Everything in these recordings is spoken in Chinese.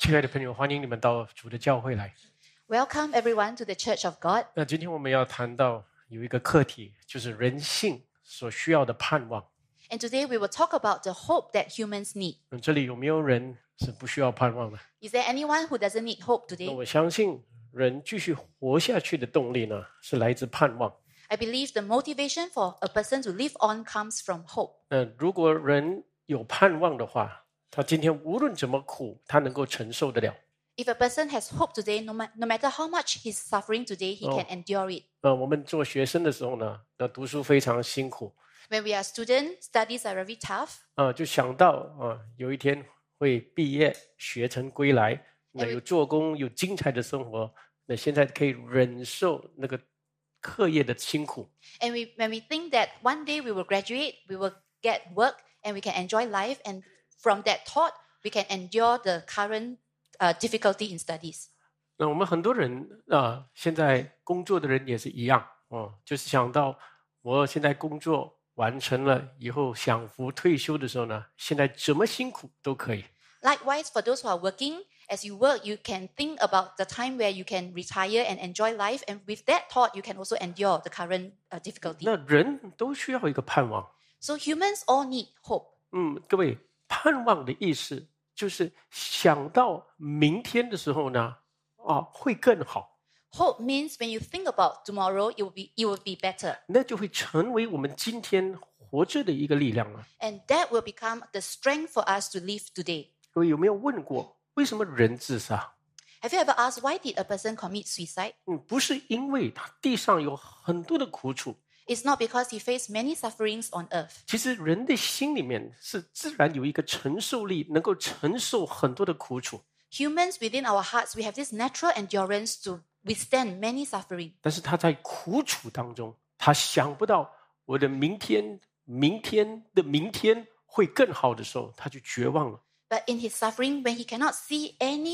亲爱的朋友，欢迎你们到主的教会来。 Welcome everyone to the Church of God. 那今天我们要谈到有一个课题，就是人性所需要的盼望。 And today we will talk about the hope that humans need. 这里有没有人是不需要盼望的？ Is there anyone who doesn't need hope 那 today? 我相信人继续活下去的动力呢，是来自盼望。 I believe the motivation for a person to live on comes from hope. 如果人有盼望的话，他今天无论怎么苦，他能够承受得了。 If a person has hope today, no matter how much he's suffering today, he can endure it. 我们做学生的时候呢，读书非常辛苦。 When we are students, studies are very tough. 就想到有一天会毕业，学成归来，那有做工，有精彩的生活。那现在可以忍受那个课业的辛苦。 And when we think that one day we will graduate, we will get work, and we can enjoy life, and from that thought, we can endure the current difficulty in studies. 那我们很多人现在工作的人也是一样，就是想到我现在工作完成了以后，享福退休的时候呢，现在怎么辛苦都可以。 Likewise, for those who are working, as you work, you can think about the time where you can retire and enjoy life. And with that thought, you can also endure the current difficulty. 那人都需要一个盼望。 So humans all need hope. 各位，盼望的意思就是想到明天的时候呢，会更好。 Hope means when you think about tomorrow, it will be better. 那就会成为我们今天活着的一个力量了。 And that will become the strength for us to live today. 各位有没有问过，为什么人自杀？ Have you ever asked why did a person commit suicide? 不是因为他地上有很多的苦楚， It's not because he faced many sufferings on earth. 其实人的心里面是自然有一个承受力，能够承受很多的苦楚。 Humans within our hearts, we have this natural endurance to withstand many suffering. 但是他在苦楚当中，他想不到我的明天的明天会更好的时候，他就绝望了。 But in his suffering, when he cannot see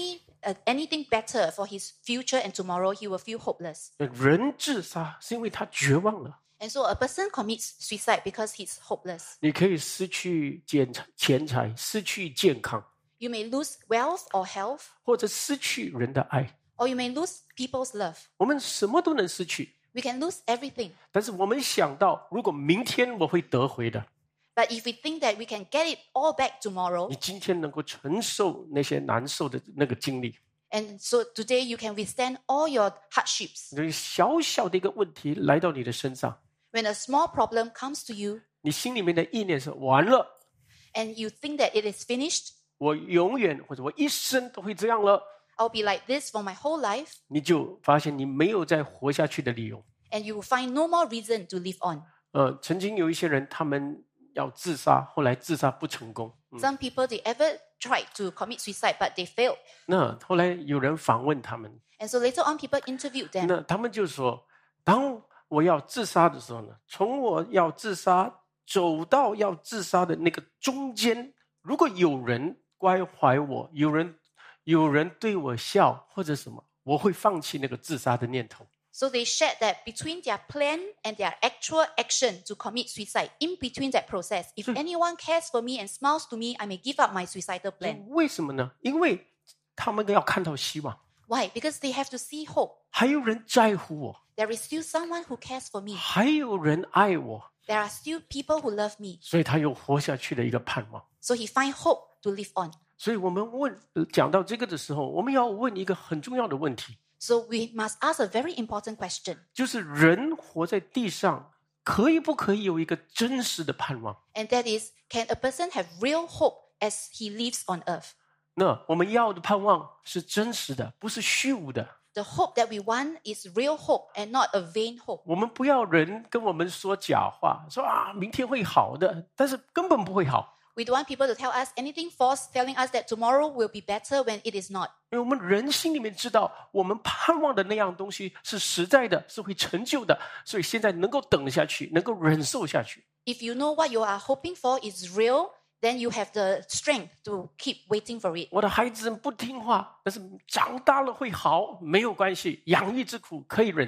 anything better for his future and tomorrow, he will feel hopeless. 人自杀是因为他绝望了。 And so a person commits suicide because he's hopeless. 你可以失去钱财，失去健康， You may lose wealth or health, 或者失去人的爱。 or you may lose people's love. 我们什么都能失去， We can lose everything. 但是我们想到，如果明天我会得回的， But if we think that we can get it all back tomorrow, 你今天能够承受那些难受的那个经历。 and so today you can withstand all your hardships. 小小的一个问题来到你的身上， When a small problem comes to you, 你心里面的意念是完了， and you think that it is finished, 我永远或者我一生都会这样了， I'll be like this for my whole life, 你就发现你没有再活下去的理由。 and you will find no more reason to live on. 曾经有一些人，他们要自杀，后来自杀不成功。 Some people, they ever tried to commit suicide, but they failed. 那后来有人访问他们， And so later on, people interviewed them. 那他们就说，当我要自杀的时候呢，从我要自杀走到要自杀的那个中间，如果有人关怀我，有人对我笑或者什么，我会放弃那个自杀的念头。 So they shared that between their plan and their actual action to commit suicide, in between that process, if anyone cares for me and smiles to me, I may give up my suicidal plan. 为什么呢？因为他们要看到希望， Why? Because they have to see hope. 还有人在乎我， There is still someone who cares for me. 还有人爱我， There are still people who love me. 所以他有活下去的一个盼望。 So he find hope to live on. 所以我们讲到这个的时候，我们要问一个很重要的问题， So we must ask a very important question. 就是人活在地上，可以不可以有一个真实的盼望？ And that is, can a person have real hope as he lives on earth? 那我们要的盼望是真实的，不是虚无的。 The hope that we want is real hope and not a vain hope. 我们不要人跟我们说假话，说明天会好的，但是根本不会好。 We don't want people to tell us anything false, telling us that tomorrow will be better when it is not. 因为我们人心里面知道，我们盼望的那样东西是实在的，是会成就的，所以现在能够等下去，能够忍受下去。 If you know what you are hoping for is real, then you have the strength to keep waiting for it. 我的孩子不听话，但是长大了会好，没有关系，养育之苦可以忍受。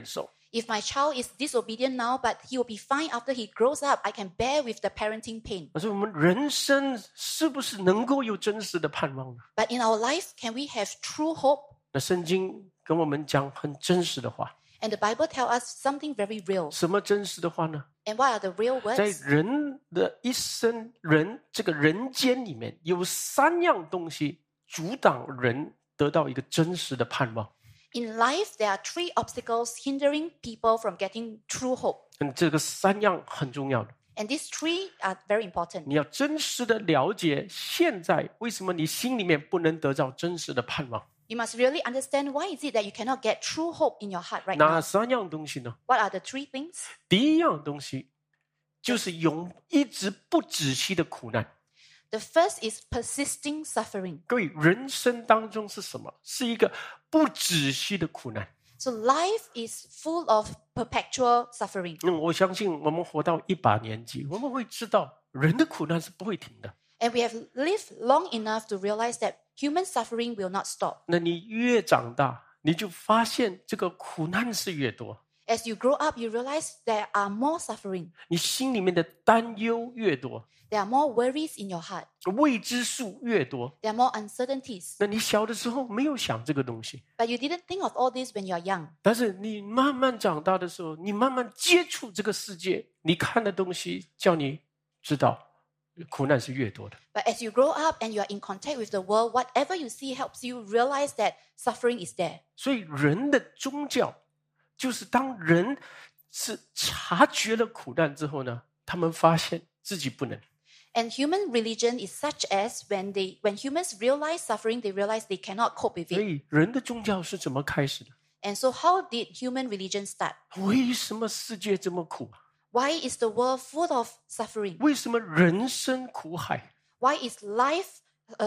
If my child is disobedient now, but he will be fine after he grows up, I can bear with the parenting pain. 所以我们人生是不是能够有真实的盼望呢？ But in our life, can we have true hope? 那圣经跟我们讲很真实的话， And the Bible tells us something very real. 什么真实的话呢？ And what are the real 在 words? 人的一生，这个人间里面有3样东西阻挡人得到一个真实的盼望。 In life, there are 3 obstacles hindering people from getting true hope. 这个3样很重要的。 And these 3 are very important. 你要真实的了解现在为什么你心里面不能得到真实的盼望。 You must really understand why is it that you cannot get true hope in your heart right 哪 now. 3样东西呢？ What are the 3 things? 第一样东西就是一直不止息的苦难。 The first is persisting suffering. 各位，人生当中是什么？是一个不止息的苦难。 So life is full of perpetual suffering. 我相信我们活到100年纪，我们会知道人的苦难是不会停的。 And we have lived long enough to realize that human suffering will not stop. 那你越长大，你就发现这个苦难是越多， As you grow up, you realize there are more suffering. 你心里面的担忧越多， There are more worries in your heart. 未知数越多。 There are more uncertainties. 那你小的时候没有想这个东西， But you didn't think of all this when you are young. 但是你慢慢长大的时候，你慢慢接触这个世界，你看的东西叫你知道苦难是越多的。 But as you grow up and you are in contact with the world, whatever you see helps you realize that suffering is there. 所以人的宗教就是当人是察觉了苦难之后呢，他们发现自己不能。 And human religion is such as when humans realize suffering, they realize they cannot cope with 所 it. 以人的宗教是怎么开始的？ And so how did human religion start? 为什么世界这么苦？ Why is the world full of suffering? 为什么人生苦海？ Why is life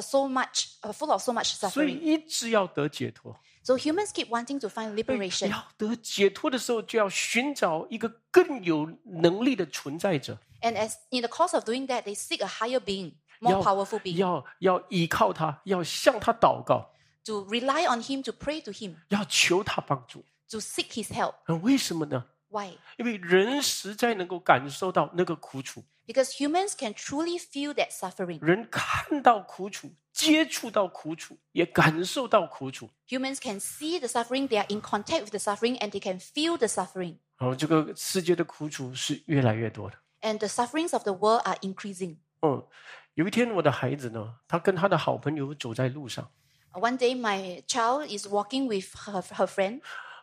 full of so much 所以 suffering? 一直要得解脱。 So humans keep wanting to find liberation. 要得解脱的时候，就要寻找一个更有能力的存在者， And as in the course of doing that, they seek a higher being, more 要 powerful being, 要依靠他，要向他祷告， to rely on him, to pray to him, 要求他帮助。 to seek his help. 为什么呢？ Why? 因为人实在能够感受到那个苦楚， Because humans can truly feel that suffering. 人看到苦楚，接触到苦楚，也感受到苦楚。 Humans can see the suffering, they are in contact with the suffering, and they can feel the suffering. 这个世界的苦楚是越来越多的。 And the sufferings of the world are increasing. 有一天我的孩子呢，他跟他的好朋友走在路上， One day, my child is walking with her friend.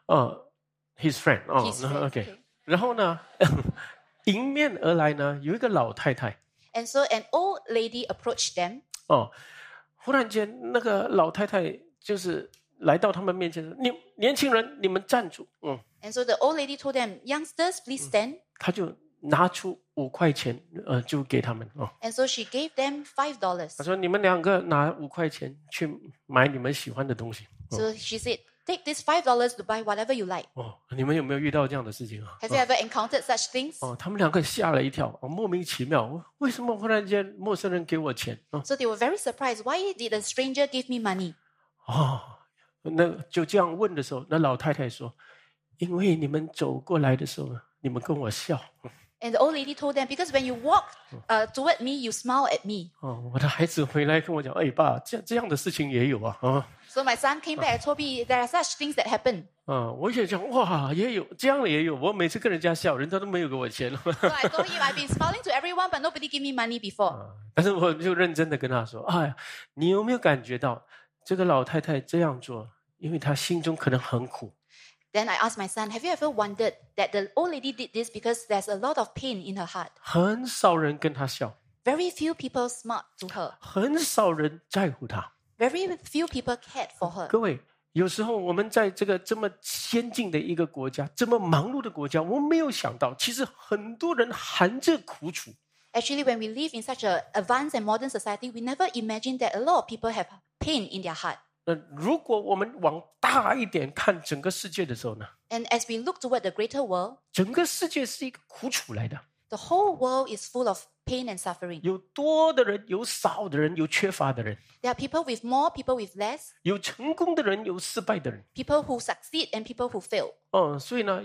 his friend His friend, OK， okay. 然后呢，迎面而来呢，有一个老太太。 And so an old lady approached them. 忽然间那个老太太就是来到他们面前说：“年轻人，你们站住。” And so the old lady told them, youngsters, please stand. 他就拿出5块钱，就给他们。 And so she gave them $5. 他说：“你们2个拿5块钱去买你们喜欢的东西。” So she said, take this $5 to buy whatever you like. 你们有没有遇到这样的事情啊？ Have you ever encountered such things? 他们2个吓了一跳，莫名其妙，为什么忽然间陌生人给我钱？ So they were very surprised. Why did a stranger give me money? 那就这样问的时候，那老太太说：“因为你们走过来的时候，你们跟我笑。” And the old lady told them, because when you walk toward me, you smile at me. 我的孩子回来跟我讲：“哎，爸，这样的事情也有啊。” So my son came back and told me there are such things that happen. 我也讲哇，也有这样的也有。我每次跟人家笑，人家都没有给我钱。 So I told him I've been smiling to everyone, but nobody gave me money before. 但是我就认真的跟他说：“哎，你有没有感觉到这个老太太这样做，因为她心中可能很苦。” Then I asked my son, have you ever wondered that the old lady did this because there's a lot of pain in her heart? 很少人跟她笑， Very few people smiled to her. 很少人在乎她。 Very few people cared for her. 各位，有时候我们在这个这么先进的一个国家，这么忙碌的国家，我们没有想到，其实很多人含着苦楚。 Actually, when we live in such an advanced and modern society, we never imagined that a lot of people have pain in their heart. 如果我们往大一点看整个世界的时候呢， And as we look toward the greater world, 整个世界是一个苦楚来的， the whole world is full of pain and suffering. 有多的人，有少的人，有缺乏的人， There are people with more, people with less, 有成功的人，有失败的人。 people who succeed and people who fail. 所以呢，有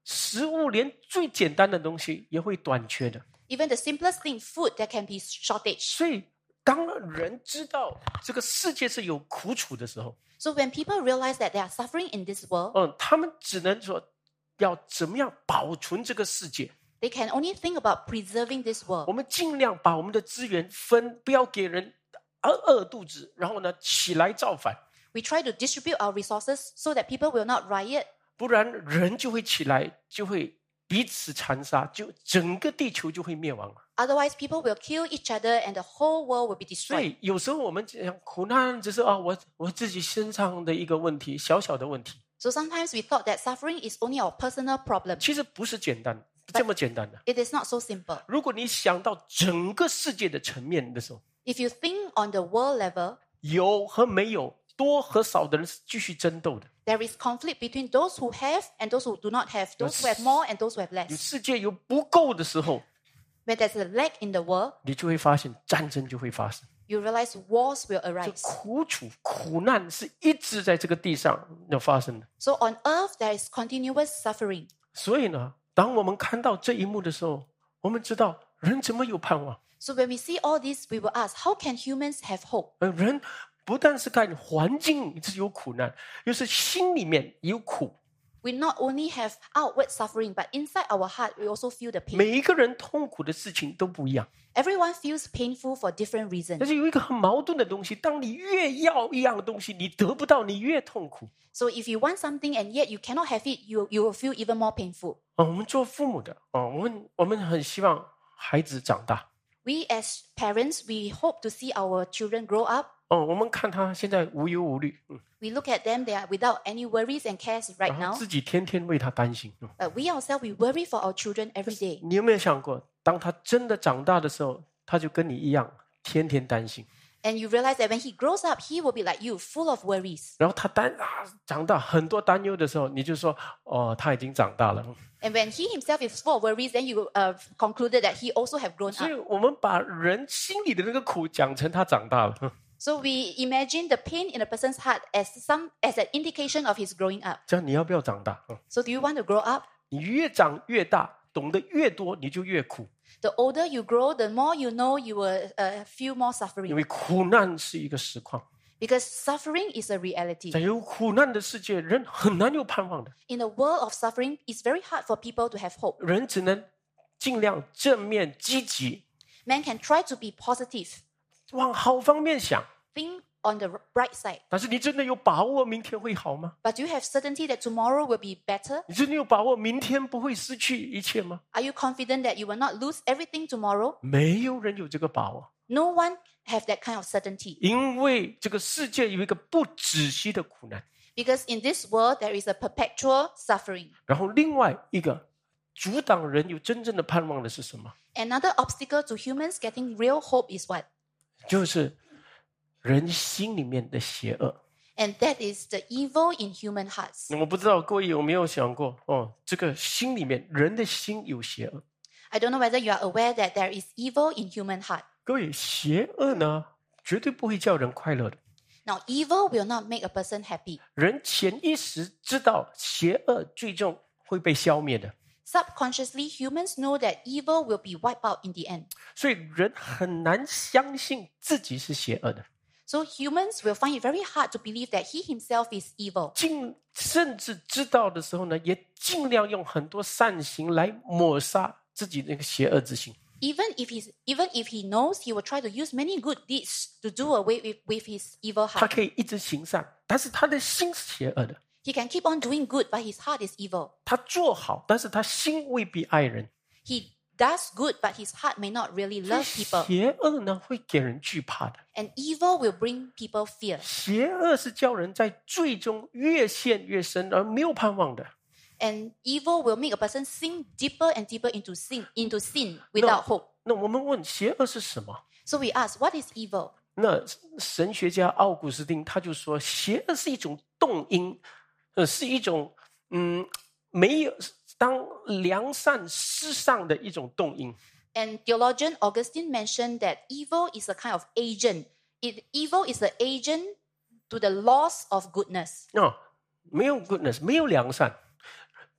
食物连最简单的东西也会短缺的。 Even the simplest thing, food, there can be shortage. 所以当人知道这个世界是有苦楚的时候， So when people realize that they are suffering in this world, 他们只能说要怎么样保存这个世界。 they can only think about preserving this 我 world. 们尽量把我们的资源分，不要给人饿肚子，然后呢起来造反， We try to distribute our resources so that people will not riot. 不然人就会起来，就会彼此残杀，就整个地球就会灭亡。 Otherwise, people will kill each other and the whole world will be 所 destroyed. 以有时候我们讲苦难只是我自己身上的一个问题，小小的问题， So sometimes we thought that suffering is only our personal problem. 其实不是这么简单的。 It is not so simple. 如果你想到整个世界的层面的时候， If you think on the world level, 有和没有，多和少的人是继续争斗的。 there is conflict between those who have and those who do not have, those who have more and those who have 有 less. 世界有不够的时候， When there's a lack in the world, 你就会发现战争就会发生。 you realize wars will 这 arise. 苦楚、苦难是一直在这个地上要发生的。 So on earth, there is continuous suffering. 所以呢，当我们看到这一幕的时候，我们知道人怎么有盼望？ So when we see all this, we will ask, how can humans have hope? 人不但是看环境是有苦难，又是心里面有苦。 We not only have outward suffering, but inside our heart, we also feel the pain. 每一个人痛苦的事情都不一样， Everyone feels painful for different 但 reasons. 是有一个很矛盾的东西：当你越要一样东西，你得不到，你越痛苦。 So if you want something and yet you cannot have it, you will feel even more painful. 我们做父母的我们很希望孩子长大。 We as parents, we hope to see our children grow up. 我们看他现在无忧无虑， We look at them, they are without any worries and cares right 然后 now. 自己天天为他担心。 But we ourselves, we worry for our children every day. 你有没有想过，当他真的长大的时候，他就跟你一样，天天担心。 And you realize that when he grows up, he will be like you, full of worries. 然后他长大很多担忧的时候，你就说他已经长大了。 And when he himself is full of worries, then you concluded that he also have grown 所以 up. 我们把人心里的那个苦讲成他长大了。 So we imagine the pain in a person's heart as an indication of his growing up. 这样你要不要长大？ So do you want to grow up? 你越长越大，懂得越多，你就越苦， The older you grow, the more you know, you will feel more 因 suffering. 为苦难是一个实况。 Because suffering is a reality. 在有苦难的世界，人很难有盼望的。 In a world of suffering, it's very hard for people to have hope. 人只能尽量正面积极， Man can try to be positive, 往好方面想。 think on the bright side. 但是你真的有把握明天会好吗？ But do you have certainty that tomorrow will be better? 你真的有把握明天不会失去一切吗？ Are you confident that you will not lose everything tomorrow? 没有人有这个把握， No one have that kind of certainty. 因为这个世界有一个不止息的苦难， Because in this world, there is a perpetual suffering. 然后另外一个阻挡人有真正的盼望的是什么？ Another obstacle to humans getting real hope is what? 就是人心里面的邪恶。 And that is the evil in human hearts. 我不知道各位有没有想过，这个心里面人的心有邪恶。 I don't know whether you are aware that there is evil in human heart. 各位，邪恶呢，绝对不会叫人快乐的。 Now, evil will not make a person happy. 人潜意识知道邪恶最终会被消灭的， Subconsciously, humans know that evil will be wiped out in the end. 所以人很难相信自己是邪恶的， So humans will find it very hard to believe that he himself is evil. 甚至知道的时候呢，也尽量用很多善行来抹杀自己那个邪恶之心。 Even if he knows, he will try to use many good deeds to do away with his evil 他 heart. 可以一直行善，但是他的心是邪恶的。 He can keep on doing good, but his heart is evil. 他做好，但是他心未必爱人。 He does good, but his heart may not really love people. 邪恶呢，会给人惧怕的。 And evil will bring people fear. 邪恶是叫人在罪中越陷越深，而没有盼望的。 And evil will make a person sink deeper and deeper into sin without hope. 那我们问，邪恶是什么？ So we ask, what is evil? 那神学家奥古斯丁他就说，邪恶是一种动因，是一种没有当良善失丧的一种动因。 And theologian Augustine mentioned that evil is a kind of agent. Evil is an agent to the loss of goodness. 没有 goodness， 没有良善。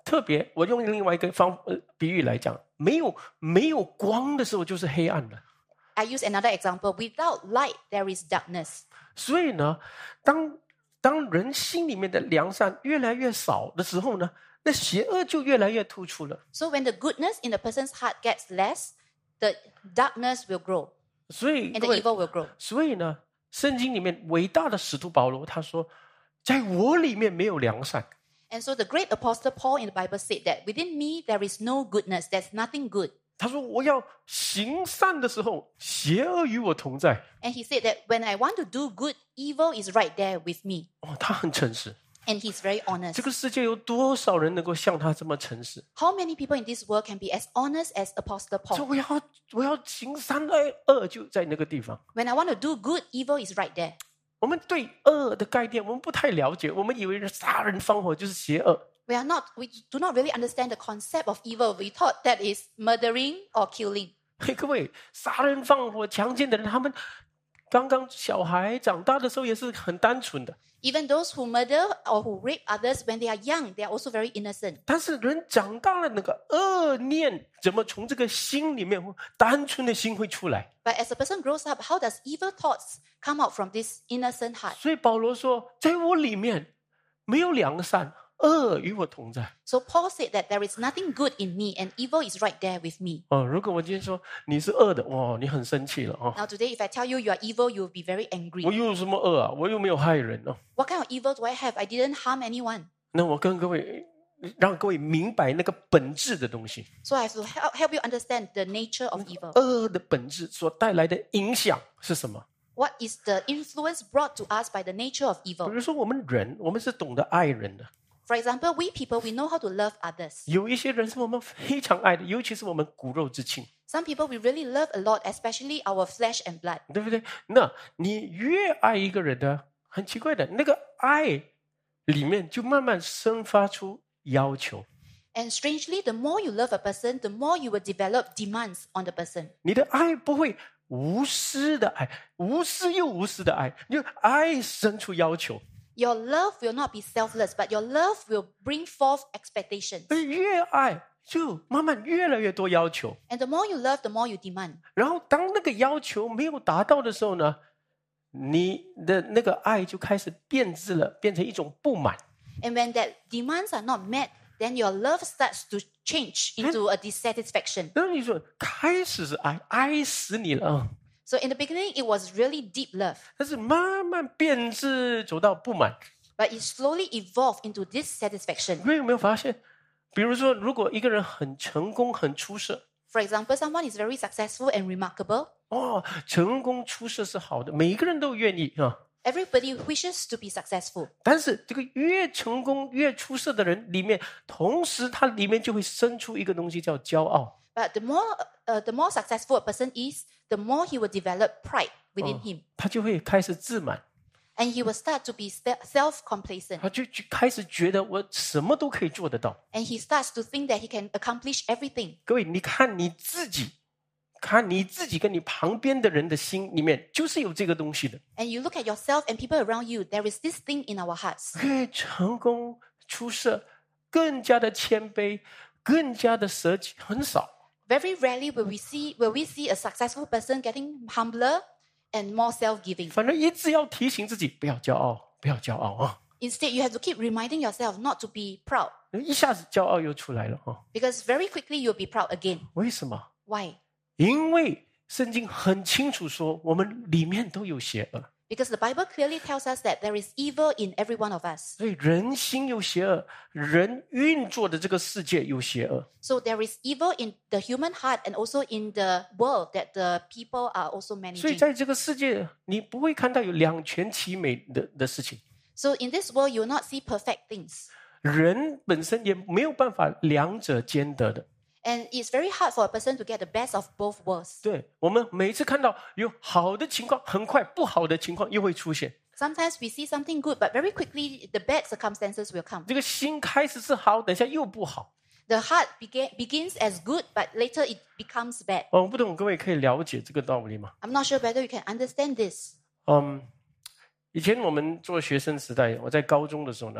特别我用另外一个比喻来讲，没有光的时候就是黑暗的。 I use another example. Without light, there is darkness. 所以呢，当人心里面的良善越来越少的时候呢，那邪恶就越来越突出了。 So when the goodness in the person's heart gets less, the darkness will grow 所以 and 各 the 位， evil will grow. 所以呢，圣经里面伟大的使徒保罗他说，在我里面没有良善。 And so the great apostle Paul in the Bible said that within me there is no goodness, there's nothing good. 他说我要行善的时候，邪恶与我同在。 And he said that when I want to do good, evil is right there with me. 他很诚实。 And he's very honest. 这个世界有多少人能够像他这么诚实？ How many people in this world can be as honest as Apostle 说 Paul? 我要行善，恶就在那个地方。 When I want to do good, evil is right there. 我们对恶的概念我们不太了解，我们以为杀人放火就是邪恶。 We do not really understand the concept of evil. We thought that is murdering or killing. 嘿，各位，杀人放火、强奸的人，他们刚刚小孩长大的时候也是很单纯的。 Even those who murder or who rape others when they are young, they are also very innocent. 但是人长大了，那个恶念怎么从这个心里面单纯的心会出来？ But as a person grows up, how does evil thoughts come out from this innocent heart? 所以保罗说，在我里面没有良善，恶与我同在。 So Paul said that there is nothing good in me and evil is right there with me. 如果我今天说你是恶的，哇，你很生气了啊！ Now today, if I tell you you are evil, you will be very 我 angry. 又有什么恶啊？我又没有害人哦。 What kind of evil do I have? I didn't harm anyone. 那我跟各位让各位明白那个本质的东西， So I have to help you understand the nature of evil. 恶的本质所带来的影响是什么？ What is the influence brought to us by the nature of 比 evil? 如说，我们人，我们是懂得爱人的。 For example, we people, we know how to love others. 有一些人是我们非常爱的，尤其是我们骨肉之亲， Some people we really love a lot, especially our flesh and blood. 对不对？那你越爱一个人呢，很奇怪的，那个爱里面就慢慢生发出要求。 And strangely, the more you love a person, the more you will develop demands on the person. 你的爱不会无私的爱，无私又无私的爱，你就爱生出要求。 Your love will not be selfless, but your love will bring forth expectations. 而越爱就慢慢越来越多要求， And the more you love, the more you demand. 然后当那个要求没有达到的时候呢，你的那个爱就开始变质了，变成一种不满。 And when that demands are not met, then your love starts to change into a dissatisfaction. 然后你说开始是爱，爱死你了啊！ So in the beginning, it was really deep love, 但是慢慢变质，走到不满。 but it slowly evolved into dissatisfaction. 你们有没有发现？比如说，如果一个人很成功、很出色， For example, someone is very successful and remarkable. 成功出色是好的，每一个人都愿意啊。 Everybody wishes to be successful. 但是这个越成功、越出色的人里面，同时他里面就会生出一个东西叫骄傲。 But the more successful a person is, the more he will develop pride within him. 他就会开始自满， And he will start to be self-complacent. 他就开始觉得我什么都可以做得到。 And he starts to think that he can accomplish everything. 各位，你看你自己，看你自己跟你旁边的人的心里面，就是有这个东西的。 And you look at yourself and people around you, there is this thing in our hearts. 越成功出色，更加的谦卑，更加的舍己，很少。 Very rarely will we see a successful person getting humbler and more self-giving. 反正一直要提醒自己不要骄傲，不要骄傲啊！ Instead, you have to keep reminding yourself not to be proud, 一下子骄傲又出来了啊！ because very quickly you'll be proud again. 为什么？ Why? 因为圣经很清楚说，我们里面都有邪恶， Because the Bible clearly tells us that there is evil in every one of us. 所以人心有邪恶，人运作的这个世界有邪恶。 So there is evil in the human heart and also in the world that the people are also 所以 managing. 在这个世界，你不会看到有两全其美的事情。 So in this world, you will not see perfect things. 人本身也没有办法两者兼得的。 And it's very hard for a person to get the best of both worlds. 对，我们每次看到有好的情况，很快不好的情况又会出现。 Sometimes we see something good, but very quickly the bad circumstances will come. 这个心开始是好，等一下又不好。 The heart begins as good, but later it becomes bad. 我不懂各位可以了解这个道理吗？ I'm not sure whether you can understand this. 以前我们做学生时代，我在高中的时候呢，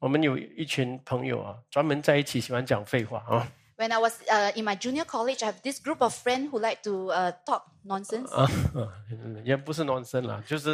我们有一群朋友啊，专门在一起喜欢讲废话啊。 When I was in my junior college, I have this group of friends who like to talk nonsense. 也不是 nonsense 啦，就是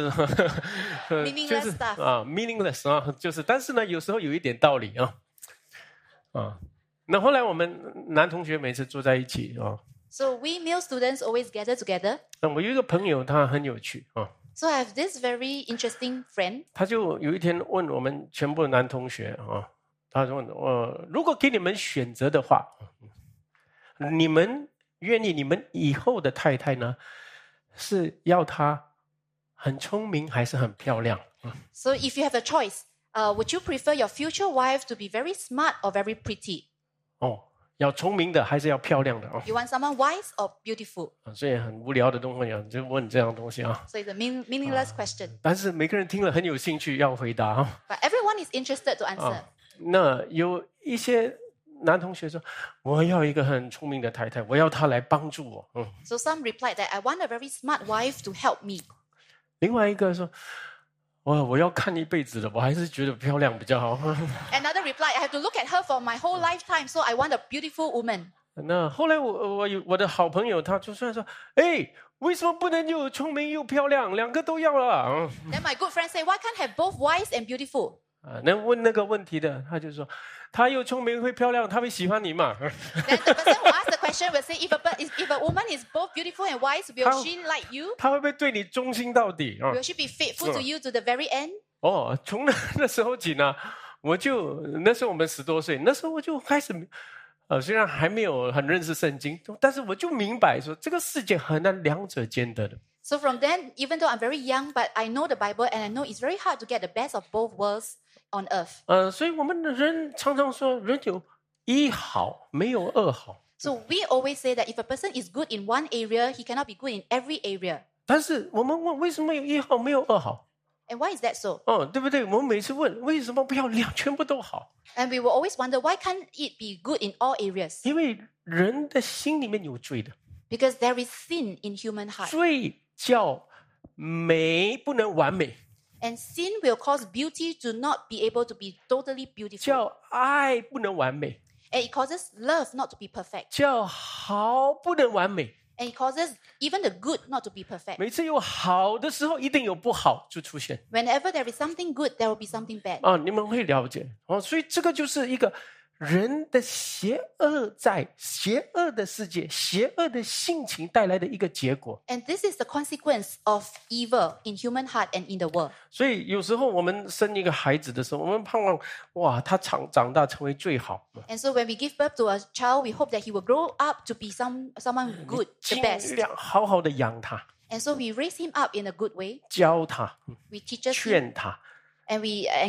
Meaningless stuff. meaningless 啊，就是，但是呢，有时候有一点道理啊。那后来我们男同学每次坐在一起啊。 So we male students always gather together. 那我有一个朋友，他很有趣啊。 So I have this very interesting friend. 他就有一天问我们全部男同学啊，他说：如果给你们选择的话，你们愿意你们以后的太太呢，是要她很聪明还是很漂亮 ？So if you have a choice, would you prefer your future wife to be very smart or very pretty? 要聪明的还是要漂亮的 You want someone wise or beautiful? 所以很无聊的东西就问这样东西啊。 So it's a meaningless question. 但是每个人听了很有兴趣要回答 But everyone is interested to answer. 那有一些男同学说：“我要一个很聪明的太太，我要她来帮助我。” So some replied that I want a very smart wife to help me. 另外一个说：“我要看一辈子的，我还是觉得漂亮比较好。” Another replied, I have to look at her for my whole lifetime, so I want a beautiful woman. 那后来我的好朋友他就算说：“为什么不能又聪明又漂亮，两个都要了 Then my good friend said, why can't have both wise and beautiful? 那问那个问题的，他就说：“他又聪明会漂亮，他会喜欢你嘛？” Then the person who asked the question will say, if a woman is both beautiful and wise, will she like you? 他会不会对你忠心到底 Will she be faithful to you to the very end? 从那时候起呢，那时候我们10多岁，那时候我就开始，虽然还没有很认识圣经，但是我就明白说，这个世界很难两者兼得的。 So from then, even though I'm very young, but I know the Bible and I know it's very hard to get the best of both worlds on earth. 所以我们的人常常说，人有一好，没有二好。 So we always say that if a person is good in one area, he cannot be good in every area. 但是我们问，为什么有一好没有二好？ And why is that so? 对不对？我们每次问，为什么不要全部都好？ And we will always wonder, why can't it be good in all areas? 因为人的心里面有罪的， Because there is sin in human heart. 罪叫美不能完美， And sin will cause beauty to not be able to be totally beautiful. 叫爱不能完美， And it causes love not to be perfect. 叫好不能完美。 And it causes even the good not to be perfect. 每次有好的时候，一定有不好就出现。 Whenever there is something good, there will be something bad. 你们会了解所以这个就是一个人的邪恶，在邪恶的世界、邪恶的性情带来的一个结果。 And this is the consequence of evil in human heart and in the world. 所以有时候我们生一个孩子的时候，我们盼望他长大成为最好。 And so when we give birth to a child, we hope that he will grow up to be someone good, the 尽 best. 量好好的养他， And so we raise him up in a good way. 教他， We teach him 劝他。 and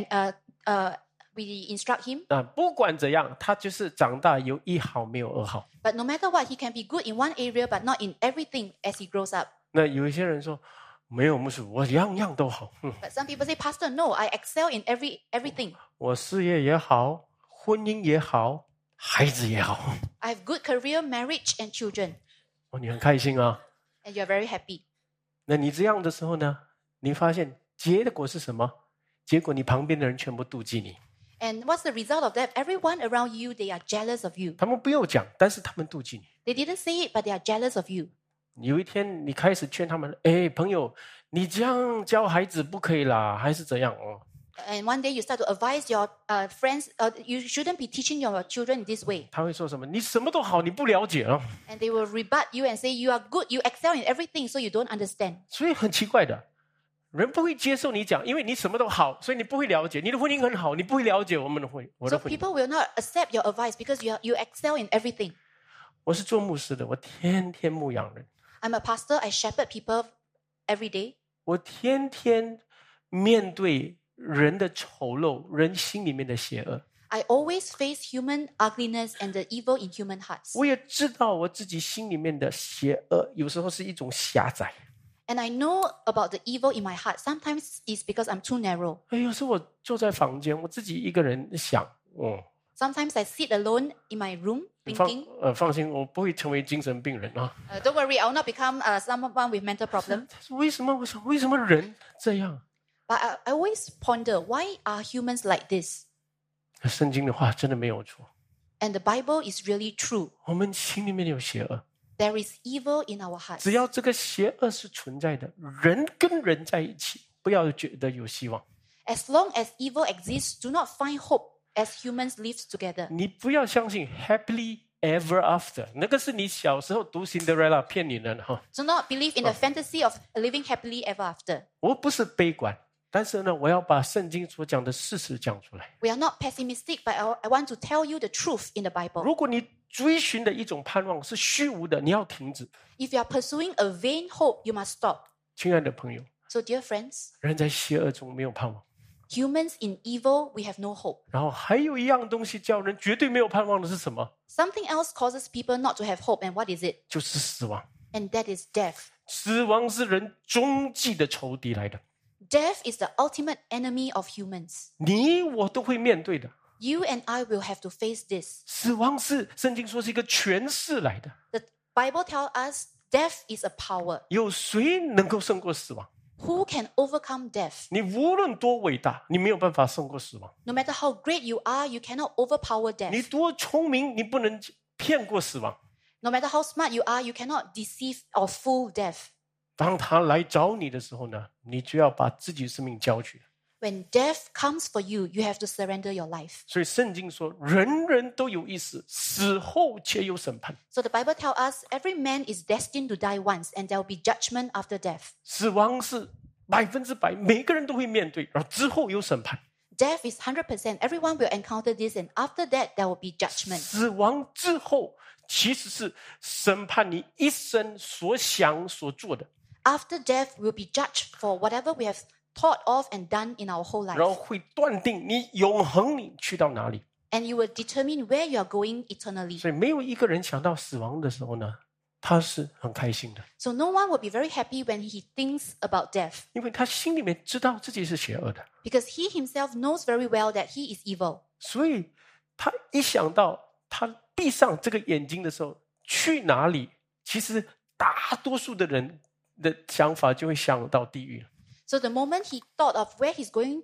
we instruct him. 不管怎样，他就是长大有一好没有二好。 But no matter what, he can be good in one area, but not in everything as he grows up. 那有一些人说，没有牧师，我样样都好。 But some people say, Pastor, no, I excel in everything. 我事业也好，婚姻也好，孩子也好。 I have good career, marriage, and children. 你很开心啊。 And you're very happy. 那你这样的时候呢，你发现结果是什么？结果你旁边的人全部妒忌你。 And what's the result of that? Everyone around you, they are jealous of you. 他们不用讲，但是他们妒忌你。 They didn't say it, but they are jealous of you. 有一天你开始劝他们，朋友，你这样教孩子不可以啦，还是怎样 And one day you start to advise your friends, you shouldn't be teaching your children in this way. 他会说什么？你什么都好，你不了解啊。 And they will rebut you and say, you are good, you excel in everything, so you don't understand. 所以很奇怪的，人不会接受你讲，因为你什么都好，所以你不会了解。你的婚姻很好，你不会了解我的婚 So 姻。 people will not accept your advice because you excel in everything. 我是做牧师的，我天天牧养人， I'm a pastor, I shepherd people every day. 我天天面对人的丑陋，人心里面的邪恶。 I always face human ugliness and the evil in human hearts. 我也知道我自己心里面的邪恶，有时候是一种狭窄。 And I know about the evil in my heart. Sometimes it's because I'm too narrow. 有时候我坐在房间，我自己一个人想， Sometimes I sit alone in my room thinking. 放心，我不会成为精神病人啊。 Don't worry, I will not become someone with mental problem. 为什么？为什么人这样？ But I always ponder, why are humans like this? 圣经的话真的没有错， And the Bible is really true. 我们心里面有邪恶， There is evil in our hearts. 只要这个邪恶是存在的，人跟人在一起，不要觉得有希望。 As long as evil exists, do not find hope as humans live together. 你不要相信 happily ever after， 那个是你小时候读 Cinderella 骗你的哈。 Do not believe in the fantasy of living happily ever after. 我不是悲观，但是呢，我要把圣经所讲的事实讲出来。 We are not pessimistic, but I want to tell you the truth in the Bible. 如果你追寻的一种盼望是虚无的，你要停止。 If you are pursuing a vain hope, you must stop. 亲爱的朋友， So, dear friends, 人在邪恶中没有盼望。 humans in evil, we have no hope. 然后还有一样东西叫人绝对没有盼望的是什么？ Something else causes people not to have hope, and what is it? 就是死亡。 And that is death. 死亡是人终极的仇敌来的， Death is the ultimate enemy of humans. 你我都会面对的。 You and I will have to face this. 死亡是圣经说是一个权势来的， The Bible tells us death is a power. 有谁能够胜过死亡？ Who can overcome death? 你无论多伟大，你没有办法胜过死亡。 No matter how great you are, you cannot overpower 你 death. 多聪明，你不能骗过死亡。 No matter how smart you are, you cannot deceive or fool death. 当他来找你的时候呢，你就要把自己生命交去。 When death comes for you, you have to surrender your life. 所以圣经说，人人都有一死，死后且有审判。 So the Bible tells us every man is destined to die once, and there will be judgment after death. 死亡是100%，每个人都会面对，然后之后有审判。 Death is 100%. Everyone will encounter this, and after that, there will be judgment. 死亡之后，其实是审判你一生所想所做的， After death, we'll be judged for whatever we have thought of and done in our whole 然后 life. 会断定你永恒你去到哪里。 And you will determine where you are going eternally. 所以没有一个人想到死亡的时候呢，他是很开心的， So no one will be very happy when he thinks about death, 因为他心里面知道自己是邪恶的， because he himself knows very well that he is evil. 所以他一想到他闭上这个眼睛的时候去哪里，其实大多数的人的想法就会想到地狱了。 So the moment he thought of where he's going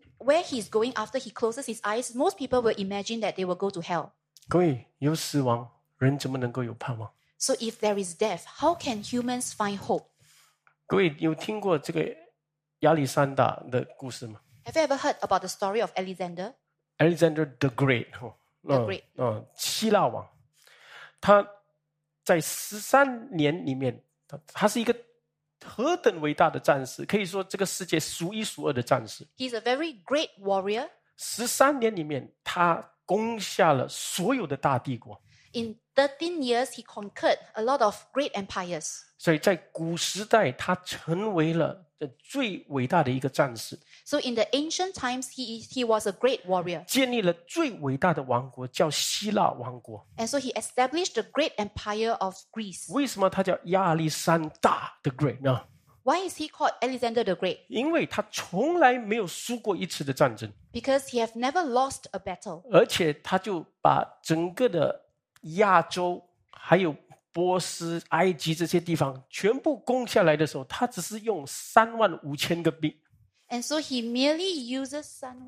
after he closes his eyes, most people will imagine that they will go to hell. 各位，有死亡，人怎么能够有盼望？ So if there is death, how can humans find hope? 各位有听过这个亚历山大的故事吗 Have you ever heard about the story of Alexander? ？Alexander the Great， The Great 希腊王，他在13年里面，他是一个何等伟大的战士，可以说这个世界数一数二的战士。 He's a very great warrior. 13年里面，他攻下了所有的大帝国。 In 13 years, he conquered a lot of great empires. 所以在古时代，他成为了最伟大的一个战士， So in the ancient times, he was a great warrior. 建立了最伟大的王国，叫希腊王国。 And so he established the great empire of Greece. 为什么他叫亚历山大 the Great 呢？ Why is he called Alexander the Great? 因为他从来没有输过一次的战争， Because he have never lost a battle. 而且他就把整个的亚洲还有波斯、埃及这些地方全部攻下来的时候，他只是用35000个兵， And so he merely uses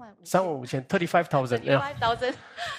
35000 35,000 35,000.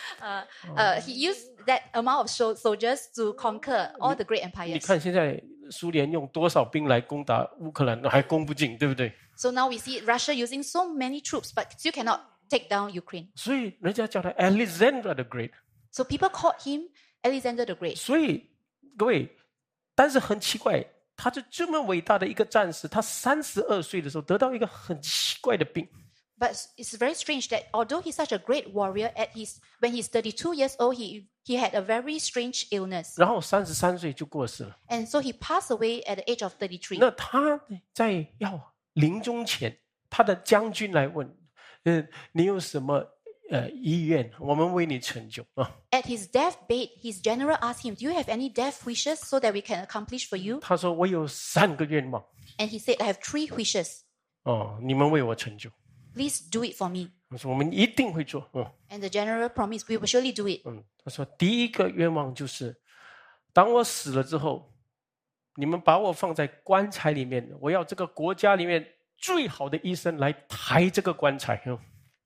He used that amount of soldiers to conquer all the great 你 empires. 看现在苏联用多少兵来攻打乌克兰，还攻不进，对不对？ So now we see Russia using so many troops, but still cannot take down Ukraine. 所以人家叫他 Alexander the Great。 So people called him Alexander the Great. 所以各位，但是很奇怪，他就这么伟大的一个战士，他32岁的时候得到一个很奇怪的病， But it's very strange that although he's such a great warrior, when he's 32 years old, he had a very strange illness. 然后33岁就过世了。 And so he passed away at the age of 33. 那他在要临终前，他的将军来问，你有什么意愿，我们为你成就啊？ At his deathbed, his general asked him, "Do you have any death wishes so that we can accomplish for you?" 他说我有3个愿望 And he said, "I have 3 wishes. 哦，你们为我成就。 Please do it for me." 我说我们一定会做。 And the general promised, "We will surely do it." 他说第一个愿望就是，当我死了之后，你们把我放在棺材里面，我要这个国家里面最好的医生来抬这个棺材。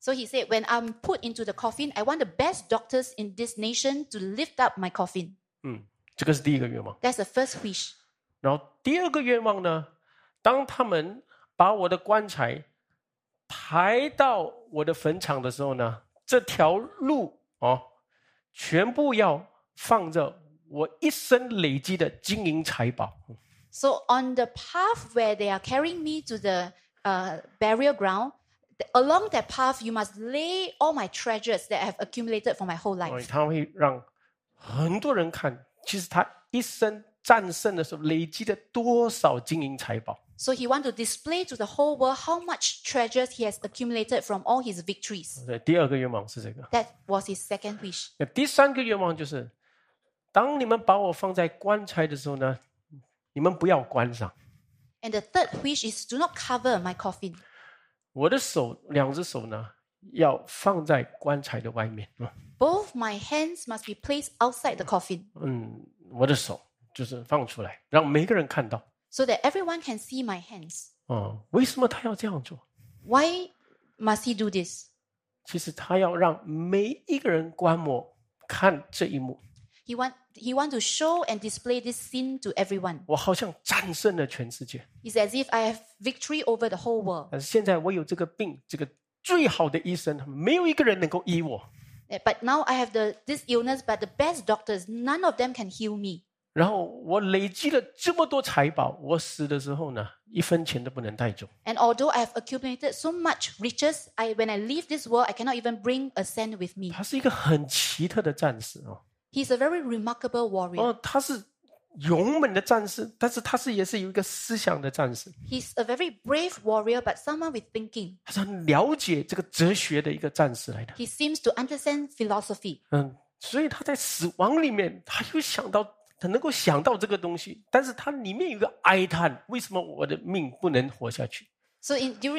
So he said, when I'm put into the coffin, I want the best doctors in this nation to lift up my coffin. 这个是第一个愿望。 That's the first wish. 然后第二个愿望呢，当他们把我的棺材抬到我的坟场的时候呢，这条路全部要放着我一生累积的金银财宝。 So on the path where they are carrying me to the burial ground, along that path, you must lay all my treasures that I have accumulated for my whole life. 他会让很多人看，其实他一生战胜的时候累积了多少金银财宝。 So he wants to display to the whole world how much treasures he has accumulated from all his victories. 对，第二个愿望是这个。 That was his second wish. 那第三个愿望就是，当你们把我放在棺材的时候呢，你们不要关上。 And the third wish is do not cover my coffin. 我的手，两只手呢，要放在棺材的外面。 Both my hands must be placed outside the coffin 我的手就是放出来，让每个人看到。 so that everyone can see my hands. 为什么他要这样做？ Why must he do this? 其实他要让每一个人观摩看这一幕。 He want to show and display this scene to everyone. 我好像战胜了全世界， It's as if I have victory over the whole world. 但是现在我有这个病，这个最好的医生，没有一个人能够医我。 But now I have this illness, but the best doctors, none of them can heal me. 然后我累积了这么多财宝，我死的时候呢，一分钱都不能带走。 And although I have accumulated so much riches, when I leave this world, I cannot even bring a cent with me. 他是一个很奇特的战士哦。 He's a very remarkable warrior. 他是勇猛的战士，但是他也是有一个思想的战士。 He's a very brave warrior, but someone with thinking. 他是很了解这个哲学的一个战士来的。 He seems to understand philosophy. 所以他在死亡里面，他又想到，他能够想到这个东西，但是他里面有一个哀叹：为什么我的命不能活下去？ So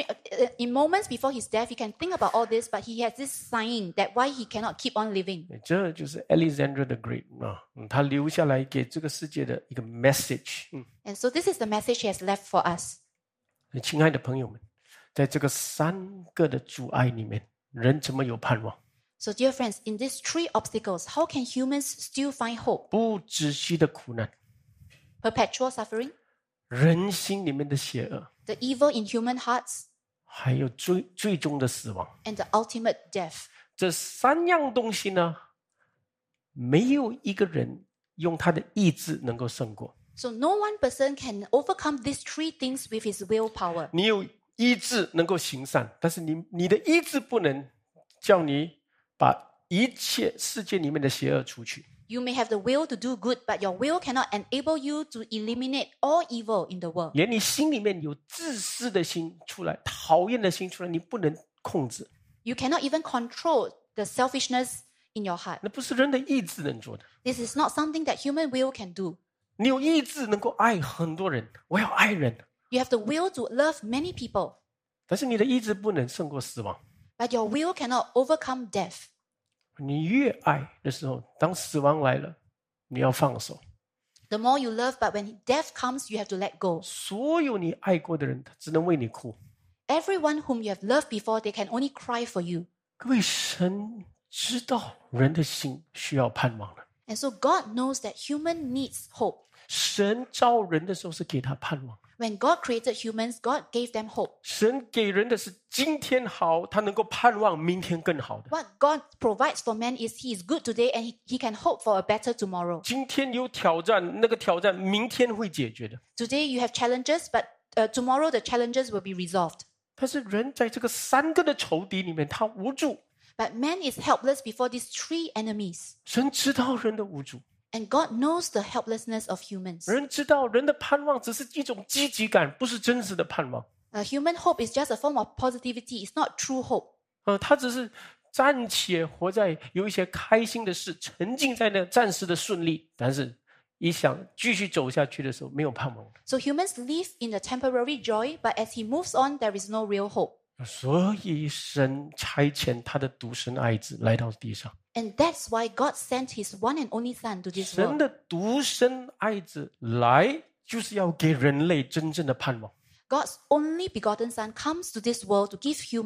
in moments before his death, he can think about all this, but he has this sighing that why he cannot keep on living. 这就是 Alexander the Great 他留下来给这个世界的一个 message。 And so this is the message he has left for us. 亲爱的朋友们，在这个三个的阻碍里面，人怎么有盼望？ So dear friends, in these three obstacles, how can humans still find hope? 不止息的苦难， Perpetual suffering, 人心里面的邪恶， the evil in human hearts, 还有最终的死亡。 and the ultimate death. 这三样东西呢，没有一个人用他的意志能够胜过。 So no one person can overcome these three things with his willpower. 你有意志能够行善，但是你的意志不能叫你把一切世界里面的邪恶除去。 You may have the will to do good, but your will cannot enable you to eliminate all evil in the world. 连你心里面有自私的心出来，讨厌的心出来，你不能控制， You cannot even control the selfishness in your heart. 那不是人的意志能做的。 This is not something that human will can do. 你有意志能够爱很多人，我要爱人， You have the will to love many people, 但是你的意志不能胜过死亡。 but your will cannot overcome death. 你越爱的时候，当死亡来了，你要放手。 The more you love, but when death comes, you have to let go. 所有你爱过的人，他只能为你哭。 Everyone whom you have loved before, they can only cry for you. 各位，神知道人的心需要盼望了。 And so God knows that human needs hope. 神造人的时候是给他盼望， When God created humans, God gave them hope. 神给人的是今天好，他能够盼望明天更好的。 What God provides for man is he is good today and he can hope for a better tomorrow. 今天有挑战，那个挑战明天会解决的。 Today you have challenges, but tomorrow the challenges will be resolved. 但是人在这个三个的仇敌里面，他无助。 But man is helpless before these three enemies. 神知道人的无助， And God knows the helplessness of humans. 人知道人的盼望只是一种积极感，不是真实的盼望。 Human hope is just a form of positivity. It's not true hope. 他只是暂且活在有一些开心的事，沉浸在那暂时的顺利，但是一想继续走下去的时候，没有盼望。 So humans live in the temporary joy, but as he moves on, there is no real hope. 所以神差遣他的独生爱子来到地上。 And that's why God sent his one and only son to this 神 world. 的独生爱子来，就是要给人类真正的盼望。 God's only begotten son comes to this world to give humans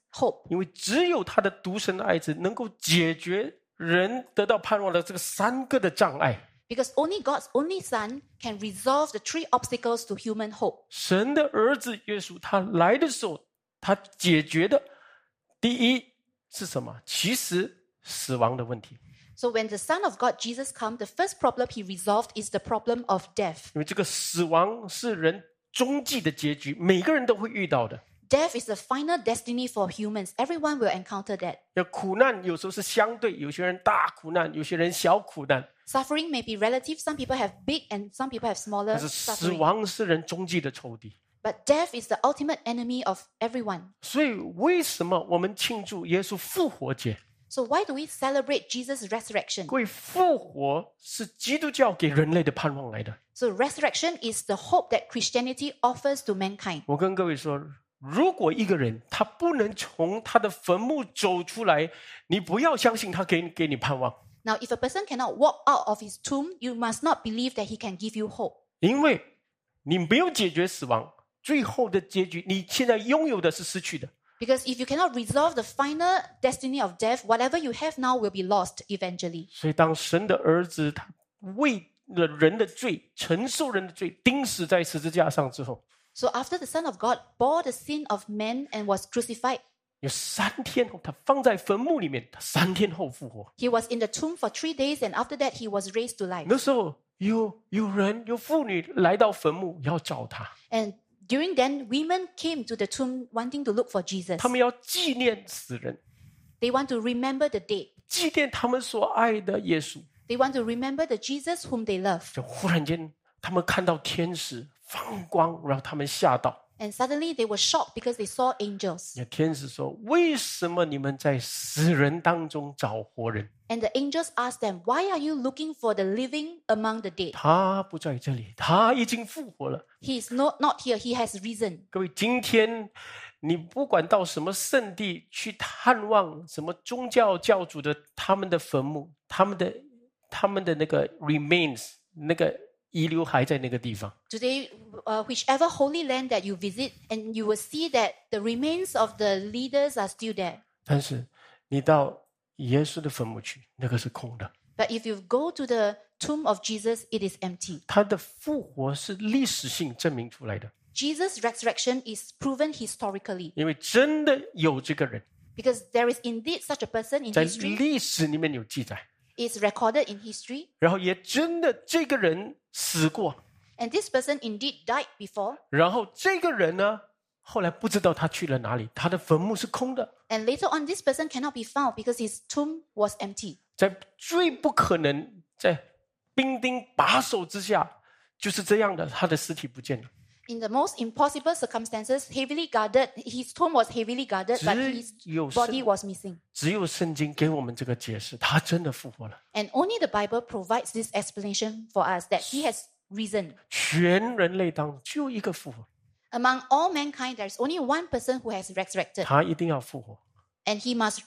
hope. 因为只有他的独生爱子能够解决人得到盼望的这个3个的障碍。 Because only God's only Son can resolve the 3 obstacles to human hope. 神的儿子耶稣他来的时候，他解决的第一是什么？其实死亡的问题。 So when the Son of God, Jesus, come, the first problem he resolved is the problem of death. 因为这个死亡是人终极的结局，每个人都会遇到的。 Death is the final destiny for humans. Everyone will encounter that. 要苦难有时候是相对，有些人大苦难，有些人小苦难。 Suffering may be relative. Some people have big and some people have smaller 但是死 suffering. 亡是人终极的仇敌。 But death is the ultimate enemy of everyone. 所以为什么我们庆祝耶稣复活节？ So why do we celebrate Jesus' resurrection? 各位，复活是基督教给人类的盼望来的。 So resurrection is the hope that Christianity offers to mankind. 我跟各位说，如果一个人他不能从他的坟墓走出来，你不要相信他给你盼望， Now, if a person cannot walk out of his tomb, you must not believe that he can give you hope. 因为你没有解决死亡，最后的结局，你现在拥有的是失去的。 Because if you cannot resolve the final destiny of death, whatever you have now will be lost eventually. 所以，当神的儿子他为了人的罪，承受人的罪，钉死在十字架上之后， So after the Son of God bore the sin of men and was crucified, 有3天后，他放在坟墓里面，他3天后复活。 he was in the tomb for 3 days, and after that he was raised to life. 那时候有妇女来到坟墓要找他， And during then, women came to the tomb wanting to look for Jesus. 他们要纪念死人， They want to remember the dead. 纪念他们所爱的耶稣。 They want to remember the Jesus whom they love. 就忽然间，他们看到天使放光，然后他们吓到。 And suddenly they were shocked because they saw angels. 天使说：“为什么你们在死人当中找活人？ And the angels asked them, "Why are you looking for the living among the dead? 他不在这里，他已经复活了。” He is not here. He has risen. 各位，今天你不管到什么圣地去探望什么宗教教主的他们的坟墓，他们的那个 remains 那个遗留还在那个地方。 Today, whichever holy land that you visit, and you will see that the remains of the leaders are still there. 但是你到耶稣的坟墓去，那个是空的。 But if you go to the tomb of Jesus, it is empty. 他的复活是历史性证明出来的， Jesus' resurrection is proven historically 因为真的有这个人， because there is indeed such a person in 在 history. 历史里面有记载， It's recorded in history. 然后也真的这个人死过， And this person indeed died before. 然后这个人呢，后来不知道他去了哪里，他的坟墓是空的。 And later on, this person cannot be found because his tomb was empty. 在最不可能在兵丁把守之下，就是这样的，他的尸体不见了。 In the most impossible circumstances, heavily guarded, his tomb was heavily guarded, but his 只有 body was missing. 只有圣经给我们这个解释，他真的复活了。 And only the Bible provides this explanation for us that he has risen. 全人类当中就一个复活， Among all mankind, there is only one person who has resurrected, 他一定要复活， and he must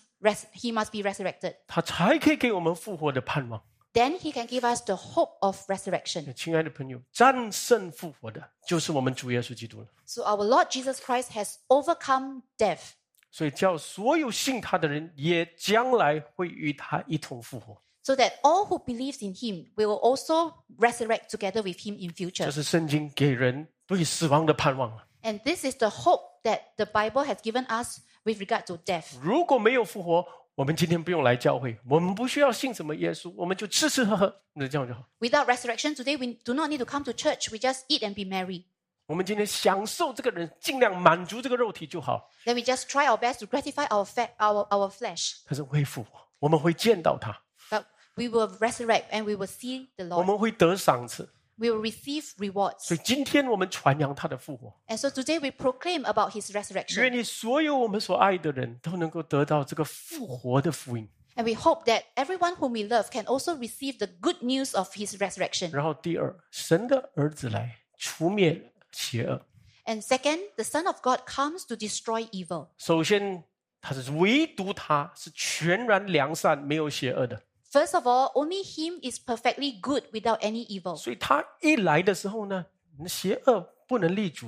be resurrected. 他才可以给我们复活的盼望。 Then he can give us the hope of resurrection. 亲爱的朋友，战胜复活的就是我们主耶稣基督了。 So our Lord Jesus Christ has overcome death. 所以叫所有信他的人也将来会与他一同复活。 So that all who believes in him will also resurrect together with him in 这 future. 是圣经给人对死亡的盼望了。 And this is the hope that the Bible has given us with regard to death. 如果没有复活，我们今天不用来教会，我们不需要信什么耶稣，我们就吃吃喝喝，那这样就好。 Without resurrection, today we do not need to come to church. We just eat and be merry. 我们今天享受这个人，尽量满足这个肉体就好。 Then we just try our best to gratify our flesh. 但是会复活，我们会见到他， But we will resurrect and we will see the 我 Lord. 们会得赏赐。 We will receive 所 rewards. 以今天我们传扬他的复活， And so today we proclaim about his 愿 resurrection. 你所有我们所爱的人都能够得到这个复活的福音。 And we hope that everyone whom we love can also receive the good news of his resurrection. 然后第二，神的儿子来除灭邪恶。 And second, the Son of God comes to destroy evil. 首先，他是唯独他是全然良善，没有邪恶的。 First of all, only him is perfectly good without any evil. 所以他一来的时候呢，邪恶不能立足的。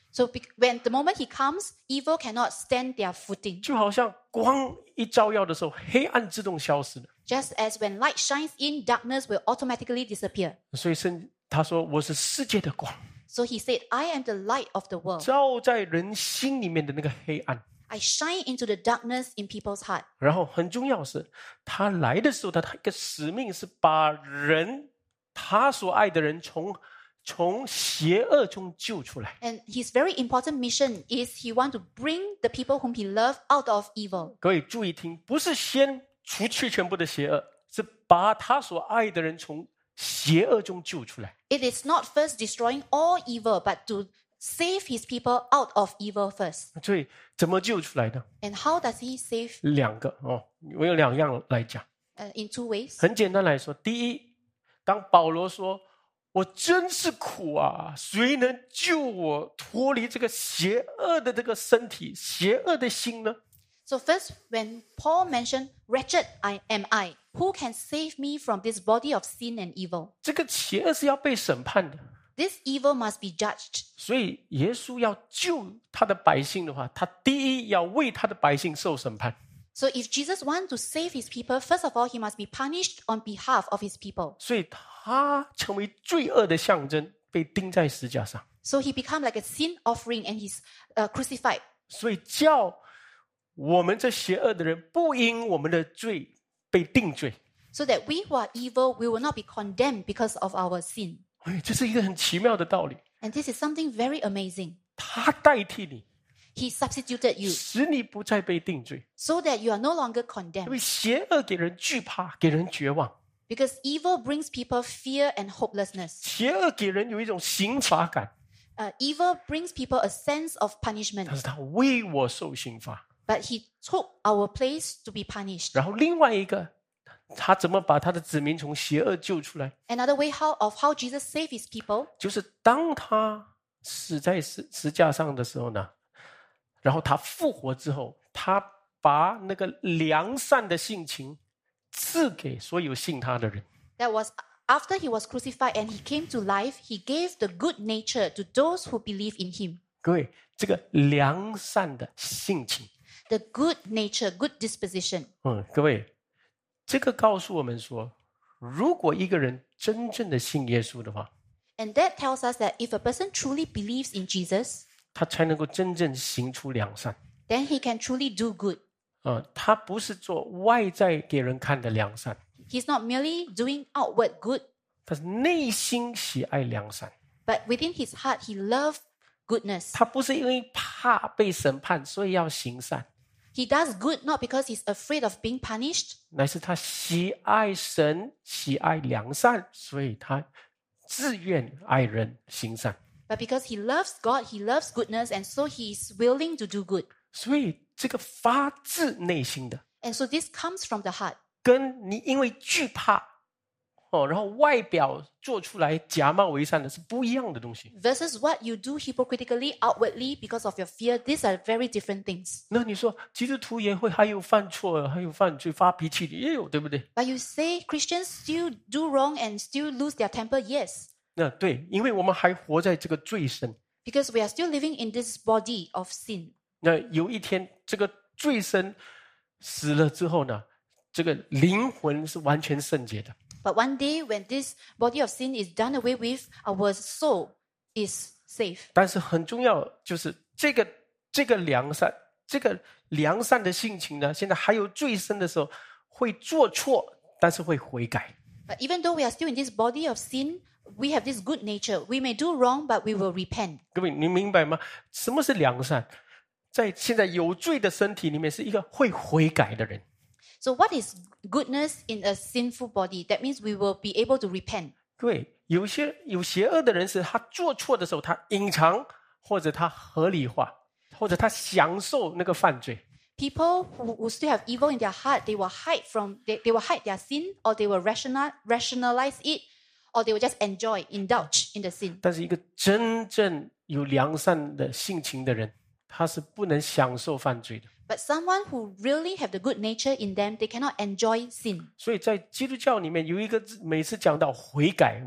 So when the moment he comes, evil cannot stand their footing. 就好像光一照耀的时候，黑暗自动消失了。 Just as when light shines in, darkness will automatically disappear. 所以他说我是世界的光， So he said, I am the light of the world. 照在人心里面的那个黑暗。 I shine into the darkness in people's heart. 然后很重要的是，他来的时候，他一个使命是把人，他所爱的人从邪恶中救出来。 And his very important mission is he wants to bring the people whom he loves out of evil. 各位注意听，不是先除去全部的邪恶，是把他所爱的人从邪恶中救出来。 It is not first destroying all evil, but to save his people out of evil first. 所以怎么救出来呢？ And how does he save? 两个哦，我有两样来讲。 In two ways. 很简单来说，第一，当保罗说我真是苦啊，谁能救我脱离这个邪恶的这个身体、邪恶的心呢？ So first, when Paul mentioned, "Wretched am I, who can save me from this body of sin and evil?" 这个邪恶是要被审判的， This evil must be judged. 所以耶稣要救他的百姓的话，他第一要为他的百姓受审判。 So if Jesus wants to save his people, first of all, he must be punished on behalf of his people. 所以他成为罪恶的象征，被钉在十架上。 So he became like a sin offering and he's crucified. 所以叫我们这邪恶的人不因我们的罪被定罪。 So that we who are evil, we will not be condemned because of our sin. 哎，这是一个很奇妙的道理。 And this is something very amazing. 他代替你， He substituted you 使你不再被定罪。 so that you are no longer 因 condemned. 为邪恶给人惧怕，给人绝望； Because evil brings people fear and hopelessness. 邪恶给人有一种刑罚感， Evil brings people a sense of punishment. 但是他为我受刑罚。 But he took our place to be punished. 然后另外一个，他怎么把他的子民从邪恶救出来？ Another way of how Jesus saved his people 就是当他死在十架上的时候呢，然后他复活之后，他把那个良善的性情赐给所有信他的人。 that was after he was crucified and he came to life, he gave the good nature to those who believe in him. 各位，这个良善的性情， The good nature, good disposition. 各位，这个告诉我们说，如果一个人真正的信耶稣的话， And that tells us that if a person truly believes in Jesus, 他才能够真正行出良善。 then he can truly do good. 他不是做外在给人看的良善， He's not merely doing outward good, 他是内心喜爱良善。 but within his heart, he loved goodness. 他不是因为怕被审判，所以要行善， He does good not because he's afraid of being punished, 乃是他喜爱神，喜爱良善，所以他自愿爱人行善。 but because he loves God, he loves goodness, and so he is willing to do good. 所以这个发自内心的， And so this comes from the heart. 跟你因为惧怕然后外表做出来假冒为善的是不一样的东西。 Versus what you do hypocritically, outwardly, because of your fear, these are very different things. 那你说基督徒也会还有犯错，还有犯罪、发脾气的也有，对不对？ But you say Christians still do wrong and still lose their temper? Yes. 那对，因为我们还活在这个罪身。 Because we are still living in this body of sin. 那有一天，这个罪身死了之后呢，这个灵魂是完全圣洁的。 But one day when this body of sin is done away with, our soul is safe. 但是很重要就是这个良善，这个良善的性情呢，现在还有罪身的时候会做错，但是会悔改。 But even though we are still in this body of sin, we have this good nature. We may do wrong, but we will repent. 各位，你明白吗？什么是良善？在现在有罪的身体里面，是一个会悔改的人。 So what is goodness in a sinful body? That means we will be able to repent. 各位，有邪恶的人是他做错的时候，他隐藏，或者他合理化，或者他享受那个犯罪。 People who still have evil in their heart, they will hide their sin, or they will rationalize it, or they will just indulge in the sin. 但是一个真正有良善的性情的人，他是不能享受犯罪的。 But someone who really have the good nature in them, they cannot enjoy sin. 所以在基督教里面有一个字，每次讲到悔改，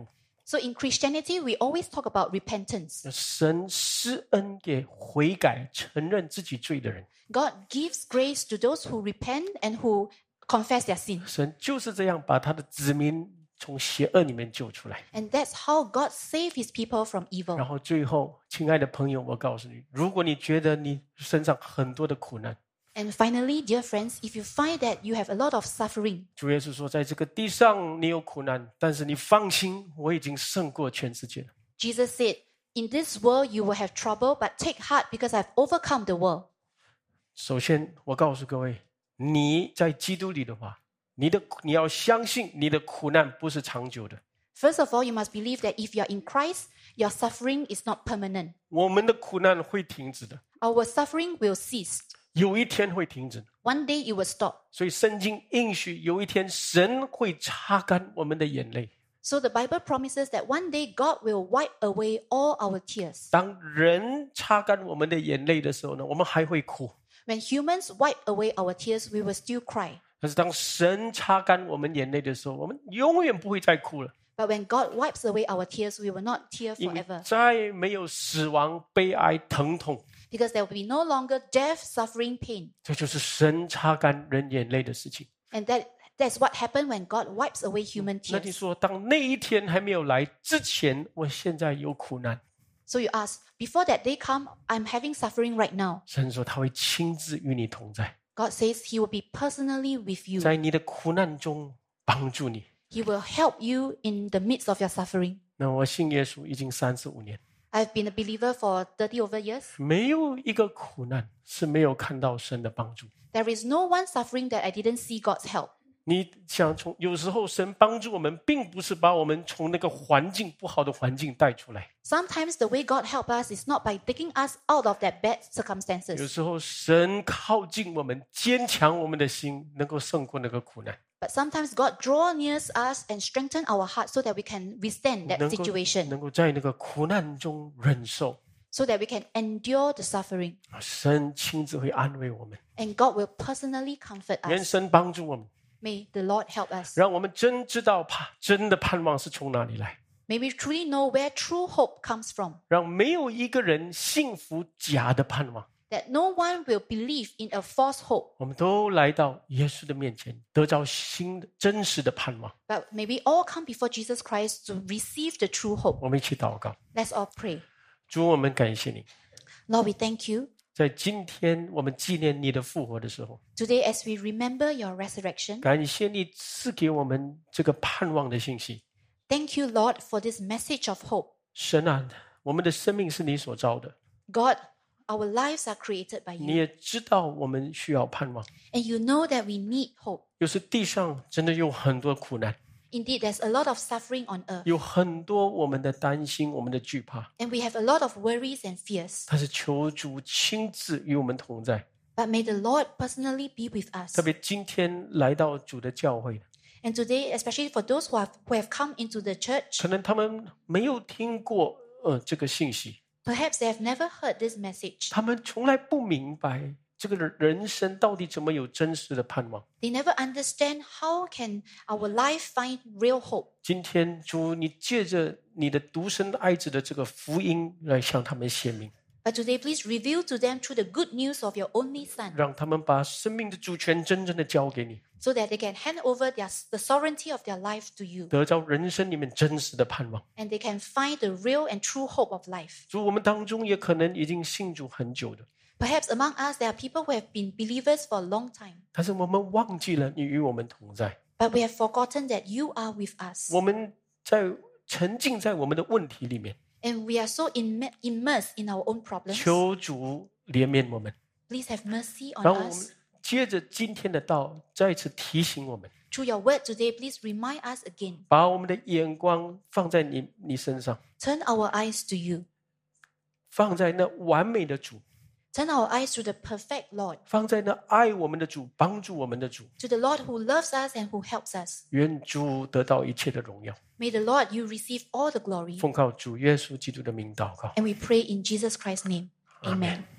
So in Christianity, we always talk about repentance. 神施恩给悔改、承认自己罪的人。 God gives grace to those who repent and who confess their sin. 神就是这样把他的子民从邪恶里面救出来。 And that's how God saved his people from 然 evil. 后最后，亲爱的朋友，我告诉你，如果你觉得你身上很多的苦难， And finally, dear friends, if you find that you have a lot of suffering, 主耶稣说，在这个地上你有苦难，但是你放心，我已经胜过全世界了。 Jesus said, in this world you will have trouble, but take heart because I've overcome the world. 首先，我告诉各位，你在基督里的话，你要相信你的苦难不是长久的。 First of all, you must believe that if you are in Christ, your suffering is not permanent. 我们的苦难会停止的， Our suffering will cease. 有一天会停止。 One day it will stop. 所以圣经应许有一天神会擦干我们的眼泪。 So the Bible promises that one day God will wipe away all our tears. 当人擦干我们的眼泪的时候呢，我们还会哭。 When humans wipe away our tears, we will still cry. 但是当神擦干我们眼泪的时候，我们永远不会再哭了， But when God wipes away our tears, we will not tear 因为 forever. 再没有死亡、悲哀、疼痛。 Because there will be no longer death, suffering, pain. 这就是神擦干人眼泪的事情。 And that's what happened when God wipes away human 那你 tears. 说，当那一天还没有来之前，我现在有苦难， So you ask, before that day come, I'm having suffering right now. 神说他会亲自与你同在， God says he will be personally with you. 在你的苦难中帮助你。 He will help you in the midst of your suffering. 那我信耶稣已经35年， I've been a believer for 30 over years. 没有一个苦难是没有看到神的帮助。 There is no one suffering that I didn't see God's help. 你想有时候神帮助我们，并不是把我们从那个不好的环境带出来， Sometimes the way God helps us is not by taking us out of that bad 有 circumstances. 时候神靠近我们，坚强我们的心，能够胜过那个苦难， But sometimes God draws near us and strengthens our heart so that we can withstand that 能够 situation, 能够在那个苦难中忍受， so that we can endure the suffering. 神亲自会安慰我们， And God will personally comfort 愿 us. 神帮助我们， May the Lord help us. 让我们真知道真的盼望是从哪里来， May we truly know where true hope comes from. 让没有一个人信服假的盼望。 That no one will believe in a false hope. 我们都来到耶稣的面前，得着真实的盼望。 But may we all come before Jesus Christ to receive the true hope. 我们一起祷告， Let's all pray. 主，我们感谢你， Lord, we thank you. 在今天我们纪念你的复活的时候， Today, as we remember your resurrection, 感谢你赐给我们这个盼望的信息。 thank you, Lord, for this message of hope. 神啊，我们的生命是你所造的， God, our lives are created by 你 you. 也知道我们需要盼望。 And you know that we need hope. 有时地上真的有很多苦难， Indeed, there's a lot of suffering on earth. 有很多我们的担心，我们的惧怕。 And we have a lot of worries and fears. 但是求主亲自与我们同在， But may the Lord personally be with us. 特别今天来到主的教会， And today, especially for those who have come into the church, 可能他们没有听过这个信息， perhaps they have never heard this message. 他们从来不明白这个人生到底怎么有真实的盼望。 They never understand how can our life find real hope. 今天主，你借着你的独生爱子的这个福音来向他们显明， But today, please reveal to them through the good news of your only Son, 让他们把生命的主权真正的交给你， so that they can hand over the sovereignty of their life to you, 得着人生里面真实的盼望。 and they can find the real and true hope of life. 主，我们当中也可能已经信主很久的， Perhaps among us, there are people who have been believers for a long time, 但是我们忘记了你与我们同在， but we have forgotten that you are with us. 我们在沉浸在我们的问题里面。 And we are so immersed in our own problems. 求主怜悯我们， Please have mercy on 让我们 us. 接着今天的道再次提醒我们， Through your word today, please remind us again. 把我们的眼光放在你身上， Turn our eyes to you. 放在那完美的主， Turn our eyes to the perfect Lord, 放在那爱我们的主，帮助我们的主。 to the Lord who loves us and who helps us. 愿主得到一切的荣耀。 May the Lord, you receive all the glory. 奉靠主耶稣基督的名祷告。 And we pray in Jesus Christ's name. Amen.